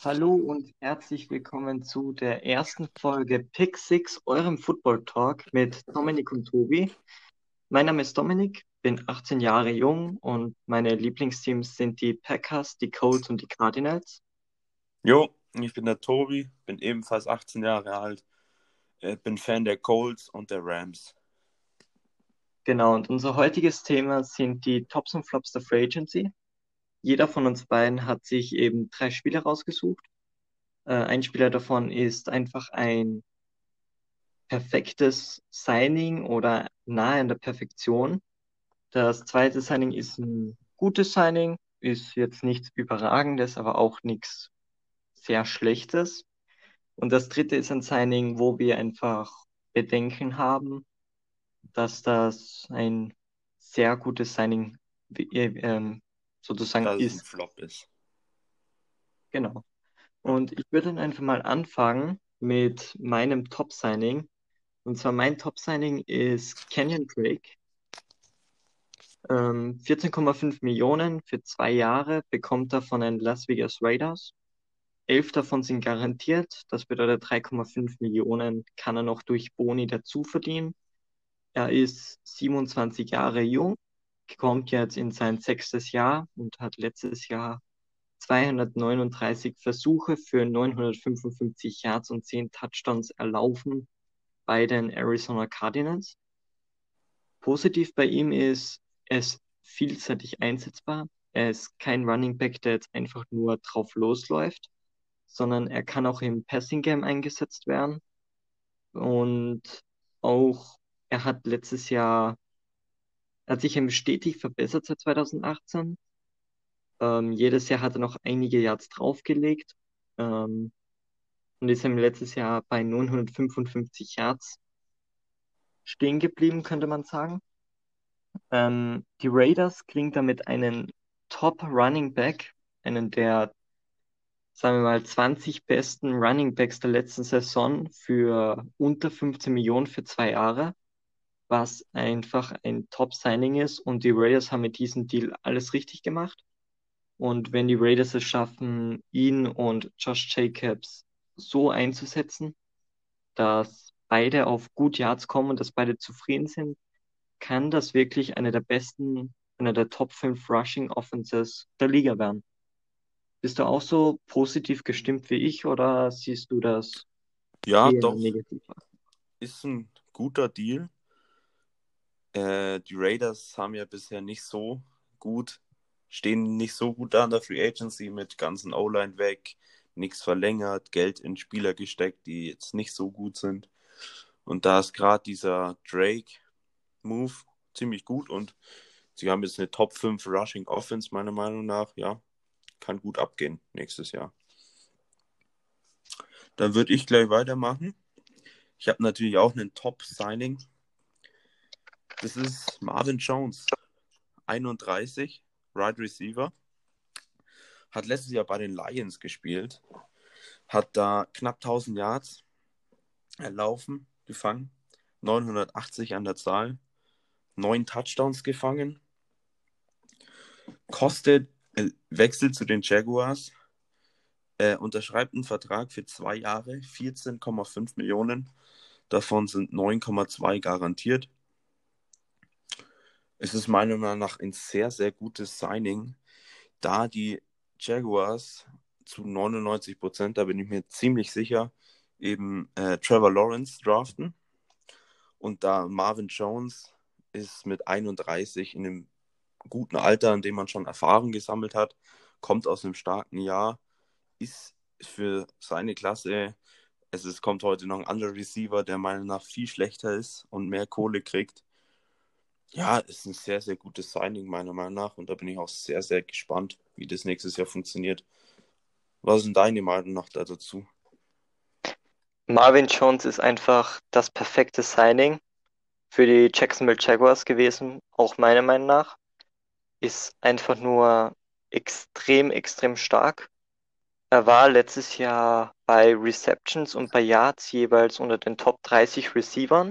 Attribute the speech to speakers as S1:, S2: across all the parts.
S1: Hallo und herzlich willkommen zu der ersten Folge Pick Six, eurem Football Talk mit Dominik und Tobi. Mein Name ist Dominik, bin 18 Jahre jung und meine Lieblingsteams sind die Packers, die Colts und die Cardinals.
S2: Jo, ich bin der Tobi, bin ebenfalls 18 Jahre alt, bin Fan der Colts und der Rams.
S1: Genau, und unser heutiges Thema sind die Tops und Flops der Free Agency. Jeder von uns beiden hat sich eben drei Spieler rausgesucht. Ein Spieler davon ist einfach ein perfektes Signing oder nahe an der Perfektion. Das zweite Signing ist ein gutes Signing, ist jetzt nichts Überragendes, aber auch nichts sehr Schlechtes. Und das dritte ist ein Signing, wo wir einfach Bedenken haben, dass das ein sehr gutes Signing sozusagen
S2: Dass es ein
S1: ist.
S2: Flop ist.
S1: Genau.
S2: Ja.
S1: Und ich würde dann einfach mal anfangen mit meinem Top-Signing. Und zwar mein Top-Signing ist Kenyon Drake. 14,5 Millionen für 2 Jahre bekommt er von den Las Vegas Raiders. 11 davon sind garantiert. Das bedeutet 3,5 Millionen kann er noch durch Boni dazu verdienen. Er ist 27 Jahre jung, kommt jetzt in sein sechstes Jahr und hat letztes Jahr 239 Versuche für 955 Yards und 10 Touchdowns erlaufen bei den Arizona Cardinals. Positiv bei ihm ist, er ist vielseitig einsetzbar. Er ist kein Running Back, der jetzt einfach nur drauf losläuft, sondern er kann auch im Passing Game eingesetzt werden. Und auch er hat letztes Jahr, er hat sich eben stetig verbessert seit 2018. Jedes Jahr hat er noch einige Yards draufgelegt und ist im letztes Jahr bei 955 Yards stehen geblieben, könnte man sagen. Die Raiders kriegen damit einen Top Running Back, einen der, sagen wir mal, 20 besten Running Backs der letzten Saison für unter 15 Millionen für 2 Jahre, was einfach ein Top-Signing ist. Und die Raiders haben mit diesem Deal alles richtig gemacht. Und wenn die Raiders es schaffen, ihn und Josh Jacobs so einzusetzen, dass beide auf gut Yards kommen und dass beide zufrieden sind, kann das wirklich eine der Top 5 Rushing Offenses der Liga werden. Bist du auch so positiv gestimmt wie ich oder siehst du das
S2: Ja,
S1: eher
S2: doch,
S1: negativ?
S2: ist ein guter Deal. Die Raiders haben ja bisher nicht so gut, stehen nicht so gut da an der Free Agency mit ganzen O-Line weg, nichts verlängert, Geld in Spieler gesteckt, die jetzt nicht so gut sind. Und da ist gerade dieser Drake-Move ziemlich gut und sie haben jetzt eine Top 5 Rushing Offense, meiner Meinung nach. Ja, kann gut abgehen nächstes Jahr. Dann würde ich gleich weitermachen. Ich habe natürlich auch einen Top-Signing. Das ist Marvin Jones, 31, Wide Receiver. Hat letztes Jahr bei den Lions gespielt. Hat da knapp 1000 Yards erlaufen, gefangen. 980 an der Zahl. 9 Touchdowns gefangen. Wechselt zu den Jaguars. Unterschreibt einen Vertrag für 2 Jahre, 14,5 Millionen. Davon sind 9,2 garantiert. Es ist meiner Meinung nach ein sehr, sehr gutes Signing, da die Jaguars zu 99%, da bin ich mir ziemlich sicher, eben Trevor Lawrence draften. Und da Marvin Jones ist mit 31 in einem guten Alter, in dem man schon Erfahrung gesammelt hat, kommt aus einem starken Jahr, ist für seine Klasse, es kommt heute noch ein anderer Receiver, der meiner Meinung nach viel schlechter ist und mehr Kohle kriegt. Ja, ist ein sehr, sehr gutes Signing, meiner Meinung nach. Und da bin ich auch sehr, sehr gespannt, wie das nächstes Jahr funktioniert. Was ist denn deine Meinung noch dazu?
S1: Marvin Jones ist einfach das perfekte Signing für die Jacksonville Jaguars gewesen, auch meiner Meinung nach. Ist einfach nur extrem, extrem stark. Er war letztes Jahr bei Receptions und bei Yards jeweils unter den Top 30 Receivern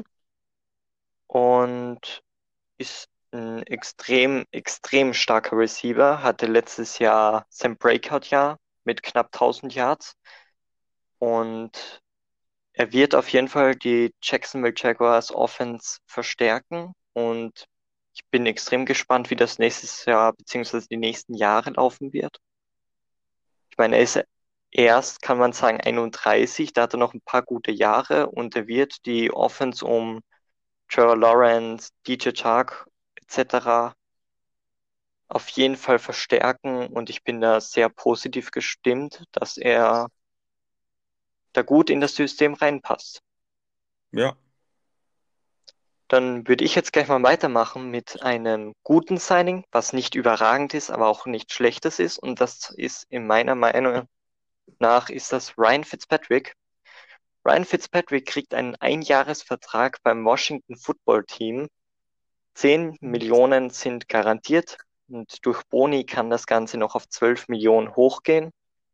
S1: und ist ein extrem, extrem starker Receiver. Hatte letztes Jahr sein Breakout-Jahr mit knapp 1000 Yards. Und er wird auf jeden Fall die Jacksonville Jaguars Offense verstärken. Und ich bin extrem gespannt, wie das nächstes Jahr beziehungsweise die nächsten Jahre laufen wird. Ich meine, er ist erst, kann man sagen, 31, da hat er noch ein paar gute Jahre und er wird die Offense um Trevor Lawrence, DJ Chark etc. auf jeden Fall verstärken und ich bin da sehr positiv gestimmt, dass er da gut in das System reinpasst.
S2: Ja,
S1: Dann würde ich jetzt gleich mal weitermachen mit einem guten Signing, was nicht überragend ist, aber auch nicht schlechtes ist. Und das ist in meiner Meinung nach ist das Ryan Fitzpatrick. Ryan Fitzpatrick kriegt einen Einjahresvertrag beim Washington Football Team. 10 Millionen sind garantiert und durch Boni kann das Ganze noch auf 12 Millionen hochgehen.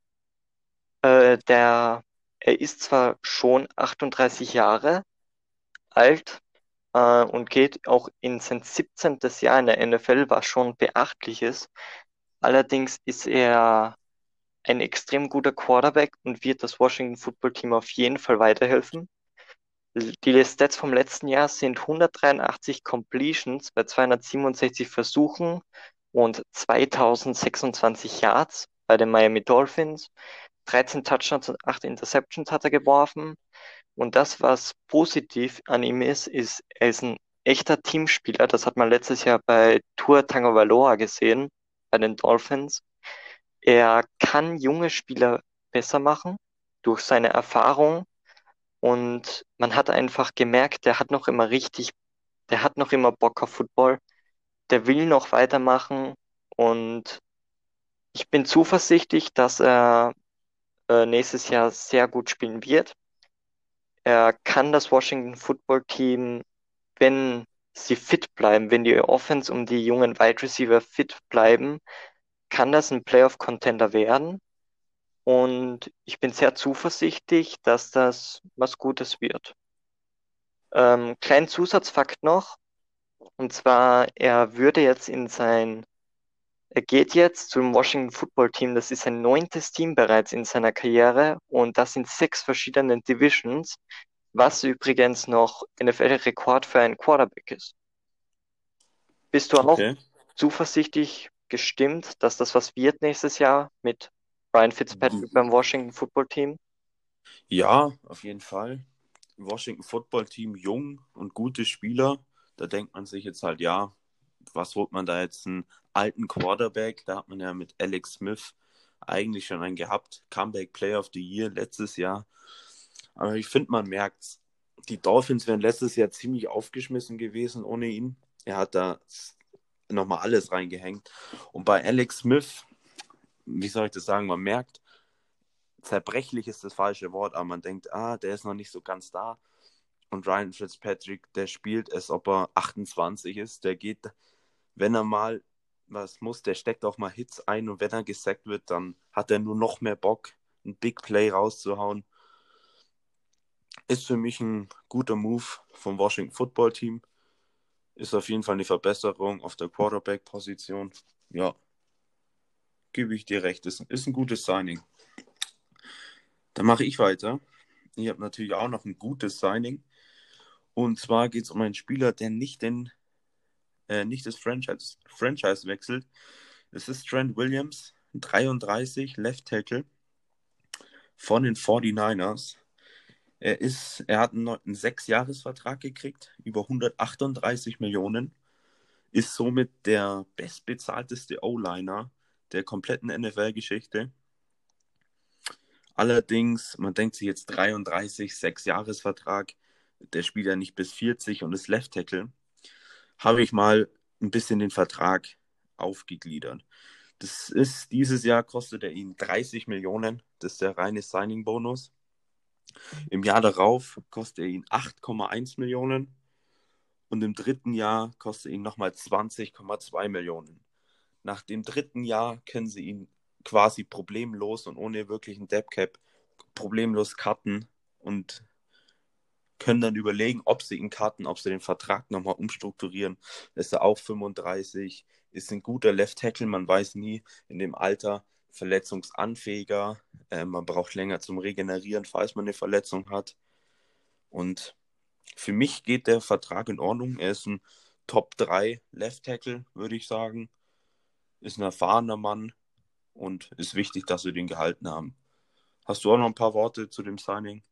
S1: Er ist zwar schon 38 Jahre alt, und geht auch in sein 17. Jahr in der NFL, was schon beachtlich ist. Allerdings ist er ein extrem guter Quarterback und wird das Washington Football Team auf jeden Fall weiterhelfen. Die Stats vom letzten Jahr sind 183 Completions bei 267 Versuchen und 2026 Yards bei den Miami Dolphins. 13 Touchdowns und 8 Interceptions hat er geworfen. Und das, was positiv an ihm ist, er ist ein echter Teamspieler. Das hat man letztes Jahr bei Tua Tagovailoa gesehen, bei den Dolphins. Er kann junge Spieler besser machen durch seine Erfahrung. Und man hat einfach gemerkt, der hat noch immer Bock auf Football. Der will noch weitermachen. Und ich bin zuversichtlich, dass er nächstes Jahr sehr gut spielen wird. Er kann das Washington Football Team, wenn sie fit bleiben, wenn die Offense um die jungen Wide Receiver fit bleiben, kann das ein Playoff-Contender werden. Und ich bin sehr zuversichtlich, dass das was Gutes wird. Kleinen Zusatzfakt noch, und zwar, er geht jetzt zum Washington Football Team, das ist sein 9. Team bereits in seiner Karriere und das in 6 verschiedenen Divisions, was übrigens noch NFL-Rekord für einen Quarterback ist. Bist du auch
S2: okay.
S1: zuversichtlich gestimmt, dass das was wird nächstes Jahr mit Ryan Fitzpatrick beim Washington Football Team?
S2: Ja, auf jeden Fall. Washington Football Team jung und gute Spieler. Da denkt man sich jetzt halt, ja, was holt man da jetzt einen alten Quarterback? Da hat man ja mit Alex Smith eigentlich schon einen gehabt. Comeback Player of the Year letztes Jahr. Aber ich finde, man merkt, die Dolphins wären letztes Jahr ziemlich aufgeschmissen gewesen ohne ihn. Er hat da nochmal alles reingehängt. Und bei Alex Smith, wie soll ich das sagen, man merkt, zerbrechlich ist das falsche Wort, aber man denkt, der ist noch nicht so ganz da. Und Ryan Fitzpatrick, der spielt, als ob er 28 ist. Der geht, wenn er mal was muss, der steckt auch mal Hits ein und wenn er gesackt wird, dann hat er nur noch mehr Bock, ein Big Play rauszuhauen. Ist für mich ein guter Move vom Washington Football Team. Ist auf jeden Fall eine Verbesserung auf der Quarterback-Position. Ja, gebe ich dir recht. Ist ein gutes Signing. Dann mache ich weiter. Ich habe natürlich auch noch ein gutes Signing. Und zwar geht es um einen Spieler, der nicht das Franchise wechselt. Es ist Trent Williams, 33, Left Tackle von den 49ers. Er hat einen 6-Jahres-Vertrag gekriegt, über 138 Millionen, ist somit der bestbezahlteste O-Liner der kompletten NFL-Geschichte. Allerdings, man denkt sich jetzt 33, 6-Jahres-Vertrag, der spielt ja nicht bis 40 und ist Left Tackle. Habe ich mal ein bisschen den Vertrag aufgegliedert. Dieses Jahr kostet er ihn 30 Millionen, das ist der reine Signing-Bonus. Im Jahr darauf kostet er ihn 8,1 Millionen und im dritten Jahr kostet er ihn nochmal 20,2 Millionen. Nach dem dritten Jahr können sie ihn quasi problemlos und ohne wirklichen Deadcap problemlos cutten und können dann überlegen, ob sie ihn cutten, ob sie den Vertrag nochmal umstrukturieren. Ist er auch 35, ist ein guter Left Tackle, man weiß nie in dem Alter, verletzungsanfähiger. Man braucht länger zum Regenerieren, falls man eine Verletzung hat. Und für mich geht der Vertrag in Ordnung. Er ist ein Top 3 Left Tackle, würde ich sagen. Ist ein erfahrener Mann und ist wichtig, dass wir den gehalten haben. Hast du auch noch ein paar Worte zu dem Signing?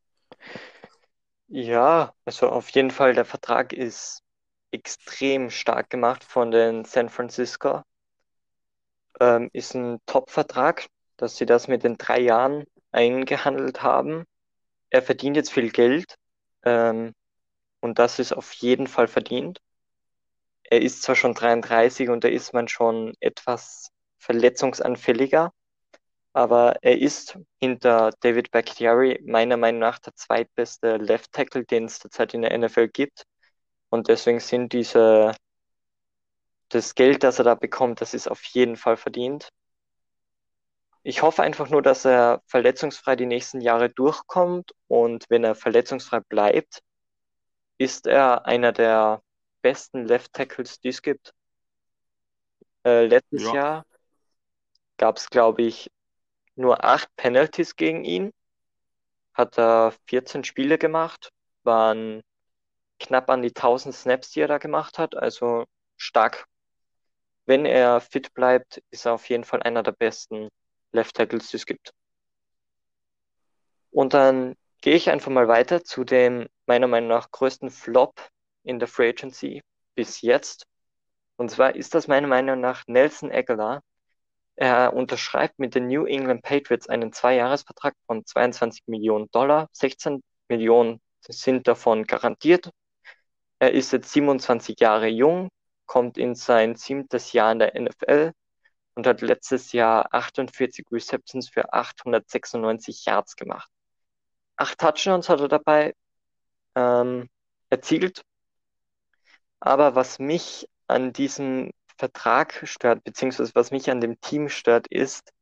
S1: Ja, also auf jeden Fall, der Vertrag ist extrem stark gemacht von den San Francisco. Ist ein Top-Vertrag, dass sie das mit den 3 Jahren eingehandelt haben. Er verdient jetzt viel Geld, ähm, und das ist auf jeden Fall verdient. Er ist zwar schon 33 und da ist man schon etwas verletzungsanfälliger, aber er ist hinter David Bakhtiari meiner Meinung nach der zweitbeste Left Tackle, den es derzeit in der NFL gibt. Und deswegen sind das Geld, das er da bekommt, das ist auf jeden Fall verdient. Ich hoffe einfach nur, dass er verletzungsfrei die nächsten Jahre durchkommt und wenn er verletzungsfrei bleibt, ist er einer der besten Left Tackles, die es gibt. Letztes
S2: Ja,
S1: Jahr gab es, glaube ich, nur 8 Penalties gegen ihn, hat er 14 Spiele gemacht, waren knapp an die 1000 Snaps, die er da gemacht hat, also stark. Wenn er fit bleibt, ist er auf jeden Fall einer der besten Left Tackles, die es gibt. Und dann gehe ich einfach mal weiter zu dem meiner Meinung nach größten Flop in der Free Agency bis jetzt. Und zwar ist das meiner Meinung nach Nelson Aguilar. Er unterschreibt mit den New England Patriots einen Zweijahresvertrag von 22 Millionen Dollar. 16 Millionen sind davon garantiert. Er ist jetzt 27 Jahre jung, kommt in sein 7. Jahr in der NFL und hat letztes Jahr 48 Receptions für 896 Yards gemacht. 8 Touchdowns hat er dabei erzielt. Aber was mich an diesem Vertrag stört, beziehungsweise was mich an dem Team stört, ist,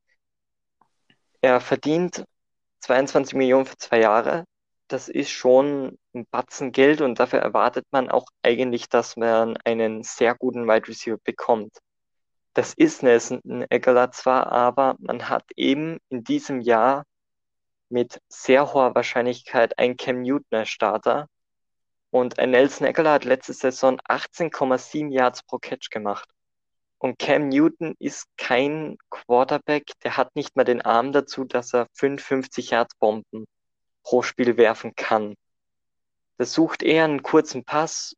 S1: er verdient 22 Millionen für 2 Jahre. Das ist schon ein Batzen Geld und dafür erwartet man auch eigentlich, dass man einen sehr guten Wide Receiver bekommt. Das ist Nelson Aguilar zwar, aber man hat eben in diesem Jahr mit sehr hoher Wahrscheinlichkeit einen Cam Newton als Starter und ein Nelson Aguilar hat letzte Saison 18,7 Yards pro Catch gemacht. Und Cam Newton ist kein Quarterback, der hat nicht mal den Arm dazu, dass er 55 Yards Bomben pro Spiel werfen kann. Der sucht eher einen kurzen Pass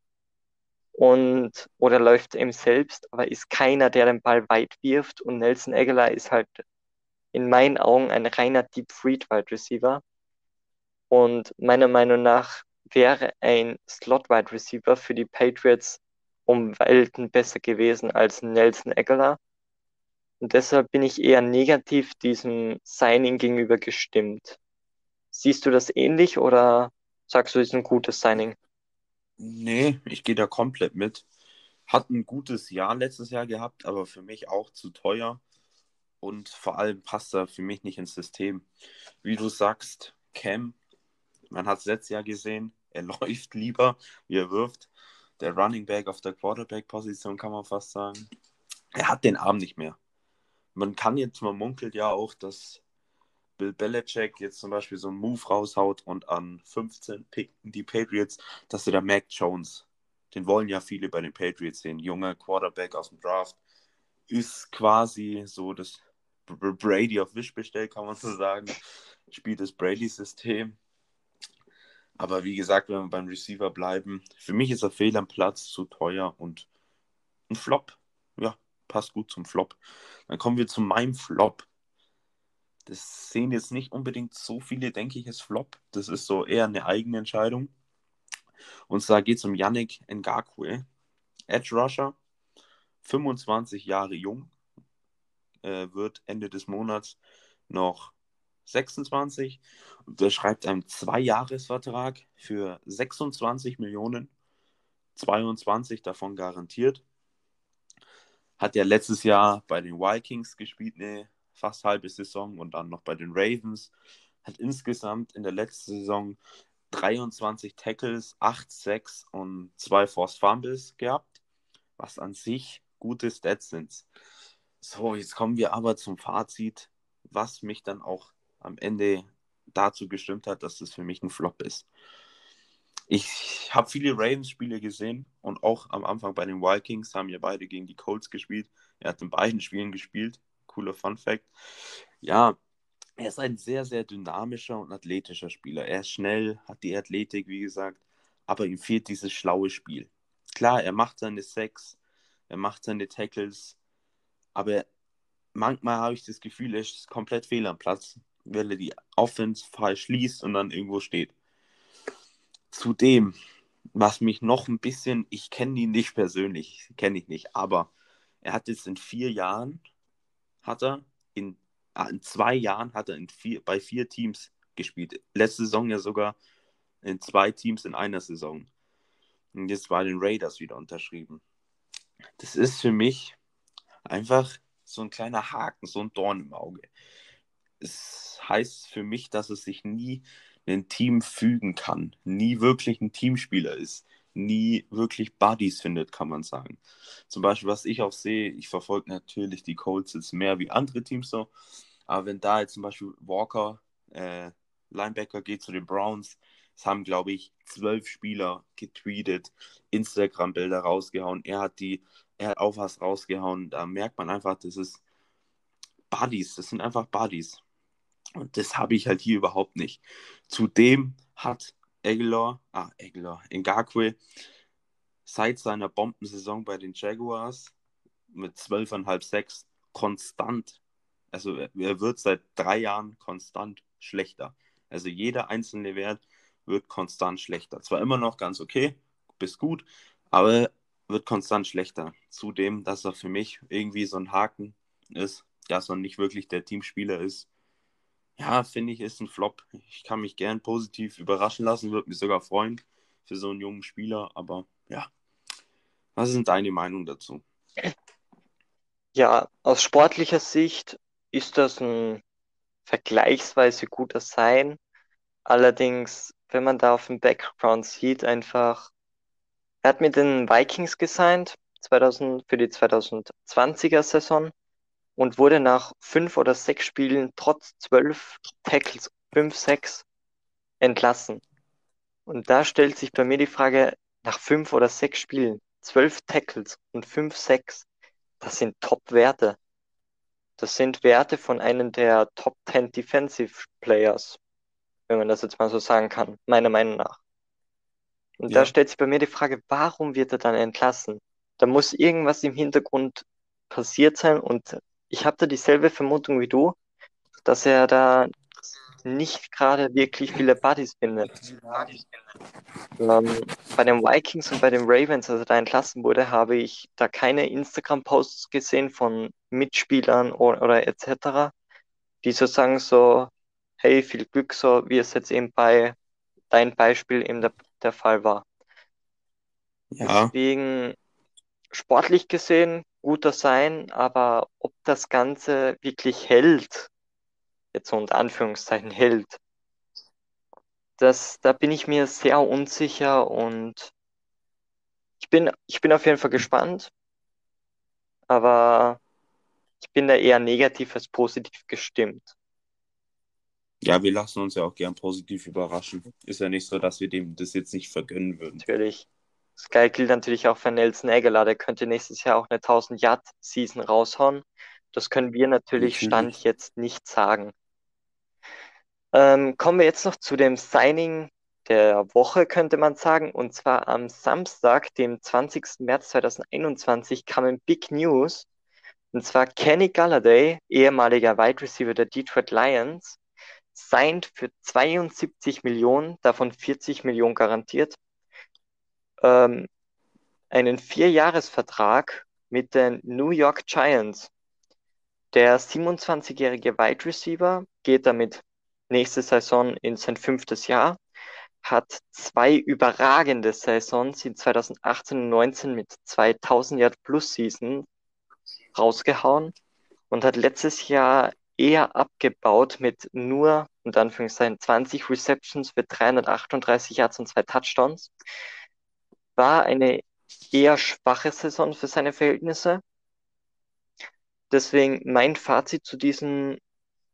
S1: und oder läuft eben selbst, aber ist keiner, der den Ball weit wirft. Und Nelson Aguilar ist halt in meinen Augen ein reiner Deep Freed Wide Receiver. Und meiner Meinung nach wäre ein Slot Wide Receiver für die Patriots um Welten besser gewesen als Nelson Aguilar. Und deshalb bin ich eher negativ diesem Signing gegenüber gestimmt. Siehst du das ähnlich oder sagst du, es ist ein gutes Signing?
S2: nee, ich gehe da komplett mit. Hat ein gutes Jahr letztes Jahr gehabt, aber für mich auch zu teuer. Und vor allem passt er für mich nicht ins System. Wie du sagst, Cam, man hat es letztes Jahr gesehen, er läuft lieber, wie er wirft. Der Running Back auf der Quarterback-Position kann man fast sagen. Er hat den Arm nicht mehr. Man munkelt ja auch, dass Bill Belichick jetzt zum Beispiel so einen Move raushaut und an 15 picken die Patriots, dass sie da Mac Jones, den wollen ja viele bei den Patriots sehen, junger Quarterback aus dem Draft, ist quasi so das Brady auf Wish bestellt, kann man so sagen. Spielt das Brady-System. Aber wie gesagt, wenn wir beim Receiver bleiben, für mich ist er fehl am Platz, zu teuer und ein Flop. Ja, passt gut zum Flop. Dann kommen wir zu meinem Flop. Das sehen jetzt nicht unbedingt so viele, denke ich, als Flop. Das ist so eher eine eigene Entscheidung. Und zwar geht es um Yannick Ngakwe, Edge Rusher, 25 Jahre jung, wird Ende des Monats noch 26. Und der schreibt einen Zweijahresvertrag für 26 Millionen, 22 davon garantiert. Hat ja letztes Jahr bei den Vikings gespielt, eine fast halbe Saison und dann noch bei den Ravens. Hat insgesamt in der letzten Saison 23 Tackles, 8 Sacks und 2 Forced Fumbles gehabt, was an sich gute Stats sind. So, jetzt kommen wir aber zum Fazit. was mich dann auch am Ende dazu gestimmt hat, dass das für mich ein Flop ist. Ich habe viele Ravens-Spiele gesehen und auch am Anfang bei den Vikings haben ja beide gegen die Colts gespielt. Er hat in beiden Spielen gespielt. Cooler Fun-Fact. Ja, er ist ein sehr, sehr dynamischer und athletischer Spieler. Er ist schnell, hat die Athletik, wie gesagt, aber ihm fehlt dieses schlaue Spiel. Klar, er macht seine Sacks, er macht seine Tackles, aber manchmal habe ich das Gefühl, er ist komplett fehl am Platz, weil er die Offense falsch liest und dann irgendwo steht. Zudem, was mich noch ein bisschen, ich kenne ihn nicht persönlich, kenne ich nicht, aber er hat jetzt in 4 Jahren, hat er in 2 Jahren hat er bei 4 Teams gespielt. Letzte Saison ja sogar in 2 Teams in einer Saison. Und jetzt bei den Raiders wieder unterschrieben. Das ist für mich einfach so ein kleiner Haken, so ein Dorn im Auge. Es heißt für mich, dass es sich nie ein Team fügen kann, nie wirklich ein Teamspieler ist, nie wirklich Buddies findet, kann man sagen. Zum Beispiel, was ich auch sehe, ich verfolge natürlich die Colts jetzt mehr wie andere Teams so, aber wenn da jetzt zum Beispiel Walker, Linebacker geht zu den Browns, es haben, glaube ich, 12 Spieler getweetet, Instagram-Bilder rausgehauen, er hat auch was rausgehauen, da merkt man einfach, das ist Buddies, das sind einfach Buddies. Und das habe ich halt hier überhaupt nicht. Zudem hat Ngakoue seit seiner Bombensaison bei den Jaguars mit 12,5 Sacks konstant, also er wird seit 3 Jahren konstant schlechter. Also jeder einzelne Wert wird konstant schlechter. Zwar immer noch ganz okay, bis gut, aber wird konstant schlechter. Zudem, dass er für mich irgendwie so ein Haken ist, dass er nicht wirklich der Teamspieler ist. Ja, finde ich, ist ein Flop. Ich kann mich gern positiv überraschen lassen, würde mich sogar freuen für so einen jungen Spieler. Aber ja, was ist denn deine Meinung dazu?
S1: Ja, aus sportlicher Sicht ist das ein vergleichsweise guter Sign. Allerdings, wenn man da auf dem Background sieht, einfach, er hat mit den Vikings gesigned 2000, für die 2020er Saison und wurde nach 5 oder 6 Spielen trotz 12 Tackles, 5, 6 entlassen. Und da stellt sich bei mir die Frage, nach 5 oder 6 Spielen, 12 Tackles und 5, 6, das sind Top-Werte. Das sind Werte von einem der Top 10 Defensive Players, wenn man das jetzt mal so sagen kann, meiner Meinung nach. Und da
S2: Ja,
S1: stellt sich bei mir die Frage, warum wird er dann entlassen? Da muss irgendwas im Hintergrund passiert sein und ich habe da dieselbe Vermutung wie du, dass er da nicht gerade wirklich viele Buddies findet. Bei den Vikings und bei den Ravens, als er da entlassen wurde, habe ich da keine Instagram-Posts gesehen von Mitspielern oder etc., die so sagen so, hey, viel Glück, so wie es jetzt eben bei deinem Beispiel eben der Fall war.
S2: ja,
S1: Deswegen sportlich gesehen guter sein, aber ob das Ganze wirklich hält, jetzt so unter Anführungszeichen hält, da bin ich mir sehr unsicher und ich bin auf jeden Fall gespannt, aber ich bin da eher negativ als positiv gestimmt,
S2: ja, wir lassen uns ja auch gern positiv überraschen. Ist ja nicht so, dass wir dem das jetzt nicht vergönnen würden.
S1: natürlich. Sky gilt natürlich auch für Nelson Aguilar, der könnte nächstes Jahr auch eine 1000-Yard-Season raushauen. Das können wir natürlich Stand
S2: Natürlich.
S1: jetzt nicht sagen. Kommen wir jetzt noch zu dem Signing der Woche, könnte man sagen. Und zwar am Samstag, dem 20. März 2021, kamen Big News. Und zwar Kenny Galladay, ehemaliger Wide Receiver der Detroit Lions, signed für 72 Millionen, davon 40 Millionen garantiert, ähm, einen Vierjahresvertrag mit den New York Giants. Der 27-jährige Wide Receiver geht damit nächste Saison in sein 5. Jahr, hat 2 überragende Saisons in 2018 und 19 mit 2000 Yard plus Season rausgehauen und hat letztes Jahr eher abgebaut mit nur, in Anführungszeichen, 20 Receptions für 338 Yards und 2 Touchdowns. War eine eher schwache Saison für seine Verhältnisse. Deswegen mein Fazit zu diesem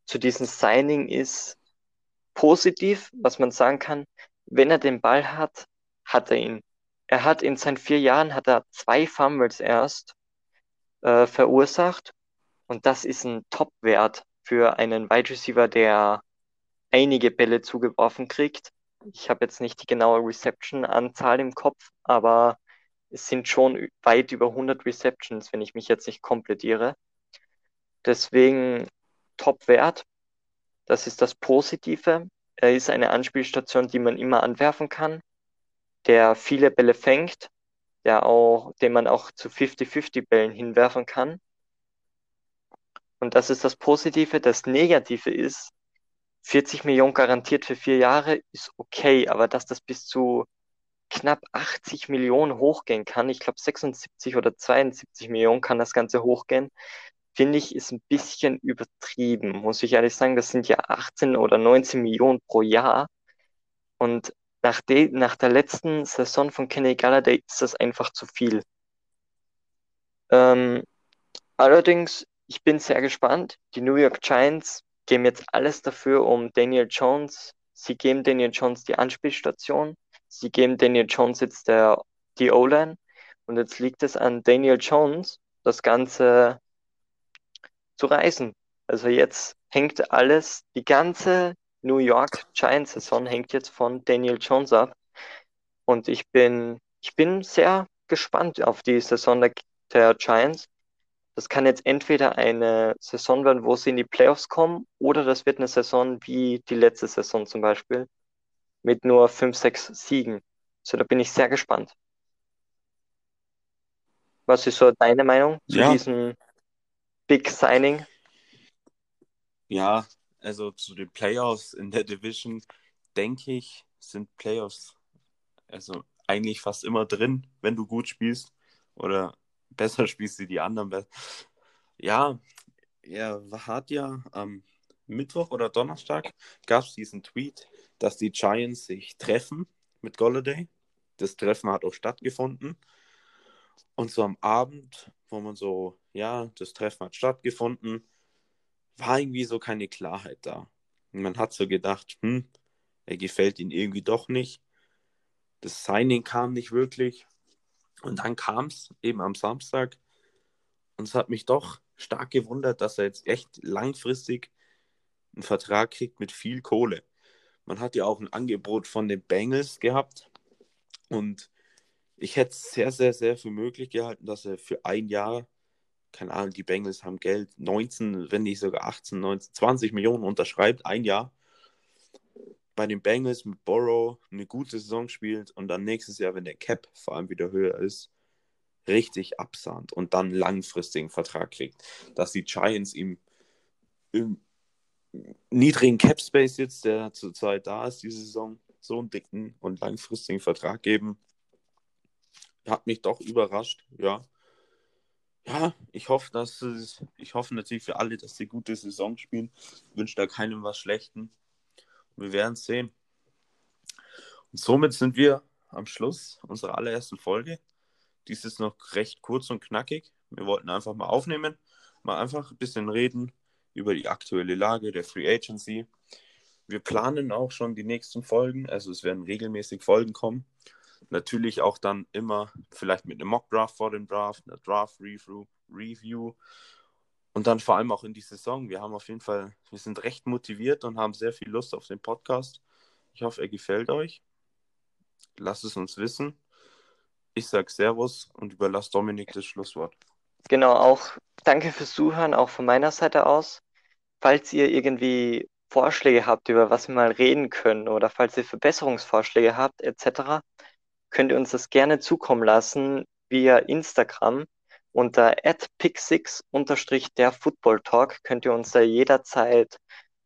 S1: zu diesem Signing ist positiv, was man sagen kann, wenn er den Ball hat, hat er ihn. Er hat in seinen 4 Jahren hat er 2 Fumbles erst verursacht und das ist ein Top-Wert für einen Wide Receiver, der einige Bälle zugeworfen kriegt. Ich habe jetzt nicht die genaue Reception-Anzahl im Kopf, aber es sind schon weit über 100 Receptions, wenn ich mich jetzt nicht komplettiere. Deswegen Top-Wert. Das ist das Positive. Er ist eine Anspielstation, die man immer anwerfen kann, der viele Bälle fängt, den man auch zu 50-50 Bällen hinwerfen kann. Und das ist das Positive. Das Negative ist, 40 Millionen garantiert für 4 Jahre ist okay, aber dass das bis zu knapp 80 Millionen hochgehen kann, ich glaube 76 oder 72 Millionen kann das Ganze hochgehen, finde ich, ist ein bisschen übertrieben, muss ich ehrlich sagen. Das sind ja 18 oder 19 Millionen pro Jahr. Und nach der letzten Saison von Kenny Galladay ist das einfach zu viel. Ähm, Allerdings, ich bin sehr gespannt. Die New York Giants geben jetzt alles dafür, um Daniel Jones. Sie geben Daniel Jones die Anspielstation. Sie geben Daniel Jones jetzt die O-Line. Und jetzt liegt es an Daniel Jones, das Ganze zu reißen. Also jetzt hängt alles, die ganze New York Giants-Saison hängt jetzt von Daniel Jones ab. Und ich bin sehr gespannt auf die Saison der Giants. Das kann jetzt entweder eine Saison werden, wo sie in die Playoffs kommen, oder das wird eine Saison wie die letzte Saison zum Beispiel, mit nur 5, 6 Siegen. So, da bin ich sehr gespannt. Was ist so deine Meinung zu
S2: Ja,
S1: diesem Big Signing?
S2: ja, also zu den Playoffs in der Division, denke ich, sind Playoffs also eigentlich fast immer drin, wenn du gut spielst oder besser spielst wie die anderen. Ja, er hat ja am Mittwoch oder Donnerstag gab es diesen Tweet, dass die Giants sich treffen mit Golladay. Das Treffen hat auch stattgefunden. Und so am Abend, wo man so, ja, das Treffen hat stattgefunden, war irgendwie so keine Klarheit da. Und man hat so gedacht, er gefällt ihm irgendwie doch nicht. Das Signing kam nicht wirklich. Und dann kam es eben am Samstag. Und es hat mich doch stark gewundert, dass er jetzt echt langfristig einen Vertrag kriegt mit viel Kohle. Man hat ja auch ein Angebot von den Bengals gehabt. Und ich hätte es sehr, sehr, sehr für möglich gehalten, dass er für ein Jahr, keine Ahnung, die Bengals haben Geld, 19, wenn nicht sogar 18, 19, 20 Millionen unterschreibt, ein Jahr bei den Bengals mit Burrow eine gute Saison spielt und dann nächstes Jahr, wenn der Cap vor allem wieder höher ist, richtig absahnt und dann langfristigen Vertrag kriegt. Dass die Giants ihm im niedrigen Cap Space jetzt, der zurzeit da ist, diese Saison, so einen dicken und langfristigen Vertrag geben, hat mich doch überrascht, ja. Ja, ich hoffe natürlich für alle, dass sie gute Saison spielen. Ich wünsche da keinem was Schlechten. Wir werden es sehen. Und somit sind wir am Schluss unserer allerersten Folge. Dies ist noch recht kurz und knackig. Wir wollten einfach mal aufnehmen, mal einfach ein bisschen reden über die aktuelle Lage der Free Agency. Wir planen auch schon die nächsten Folgen, also es werden regelmäßig Folgen kommen. Natürlich auch dann immer vielleicht mit einem Mock-Draft vor dem Draft, einer Draft-Review und dann vor allem auch in die Saison. Wir sind recht motiviert und haben sehr viel Lust auf den Podcast. Ich hoffe, er gefällt euch. Lasst es uns wissen. Ich sage Servus und überlasse Dominik das Schlusswort.
S1: Genau, auch danke fürs Zuhören, auch von meiner Seite aus. Falls ihr irgendwie Vorschläge habt, über was wir mal reden können, oder falls ihr Verbesserungsvorschläge habt, etc., könnt ihr uns das gerne zukommen lassen via Instagram unter @pick6_ der Talk könnt ihr uns da jederzeit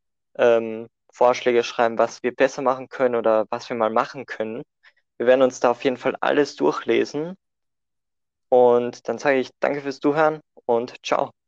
S1: Vorschläge schreiben, was wir besser machen können oder was wir mal machen können. Wir werden uns da auf jeden Fall alles durchlesen und dann sage ich danke fürs Zuhören und ciao.